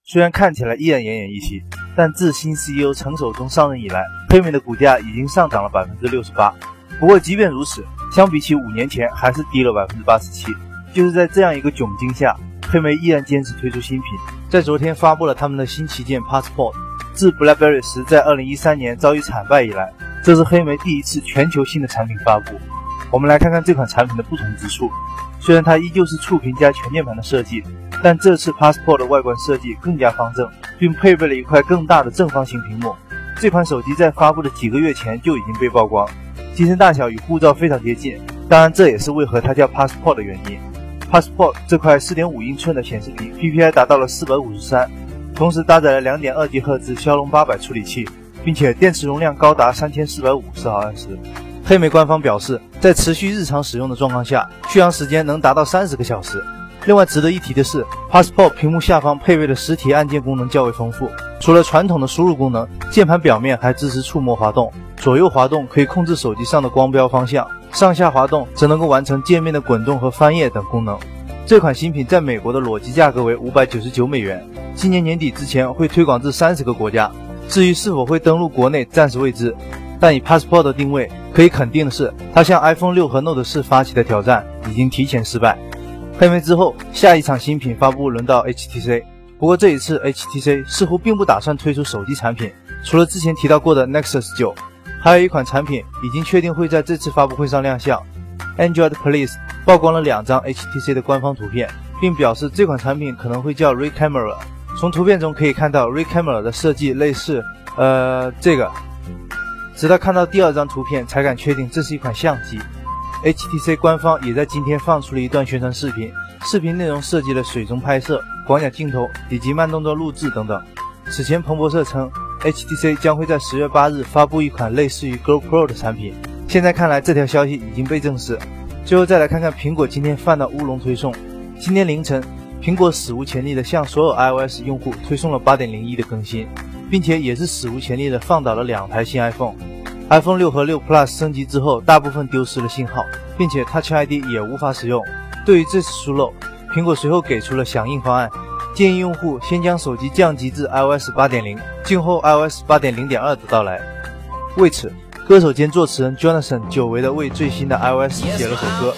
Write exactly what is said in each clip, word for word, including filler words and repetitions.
虽然看起来依然奄奄一息，但自新 C E O 陈守忠上任以来，黑莓的股价已经上涨了 百分之六十八。不过即便如此，相比起五年前还是低了 百分之八十七。就是在这样一个窘境下，黑莓依然坚持推出新品，在昨天发布了他们的新旗舰 Passport。自 BlackBerry 十在二零一三年遭遇惨败以来，这是黑莓第一次全球性的产品发布。我们来看看这款产品的不同之处。虽然它依旧是触屏加全键盘的设计，但这次 Passport 的外观设计更加方正，并配备了一块更大的正方形屏幕。这款手机在发布的几个月前就已经被曝光，机身大小与护照非常接近，当然这也是为何它叫 Passport 的原因。Passport 这块 四点五英寸的显示屏 P P I 达到了四百五十三，同时搭载了 两点二 吉赫兹 骁龙八百处理器，并且电池容量高达三千四百五十毫安时。黑莓官方表示，在持续日常使用的状况下，续航时间能达到三十个小时。另外值得一提的是 ，Passport 屏幕下方配备的实体按键功能较为丰富，除了传统的输入功能，键盘表面还支持触摸滑动，左右滑动可以控制手机上的光标方向，上下滑动则能够完成界面的滚动和翻页等功能。这款新品在美国的裸机价格为五百九十九美元，今年年底之前会推广至三十个国家。至于是否会登陆国内，暂时未知。但以 Passport 的定位，可以肯定的是，它向 iPhone 六和 Note 四发起的挑战已经提前失败。黑莓之后，下一场新品发布轮到 H T C， 不过这一次 H T C 似乎并不打算推出手机产品，除了之前提到过的 Nexus 九，还有一款产品已经确定会在这次发布会上亮相。Android Police 曝光了两张 H T C 的官方图片，并表示这款产品可能会叫 Ray Camera。从图片中可以看到 Ray Camera 的设计类似，呃，这个。直到看到第二张图片才敢确定这是一款相机。H T C 官方也在今天放出了一段宣传视频，视频内容涉及了水中拍摄、广角镜头以及慢动作录制等等。此前彭博社称 H T C 将会在十月八日发布一款类似于 GoPro 的产品，现在看来这条消息已经被证实。最后再来看看苹果今天犯的乌龙推送。今天凌晨，苹果史无前例的向所有 iOS 用户推送了 八点零一 的更新，并且也是史无前例的放倒了两台新 iPhone。iPhone 六和六 Plus 升级之后，大部分丢失了信号，并且 Touch I D 也无法使用。对于这次疏漏，苹果随后给出了响应方案，建议用户先将手机降级至 iOS 八点零， 静候 iOS 八点零点二 的到来。为此，歌手兼作词人 Jonathan 久违的为最新的 iOS 写了首歌。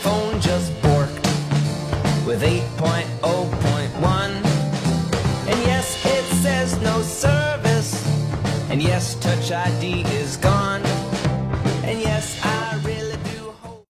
And yes, Touch I D is gone.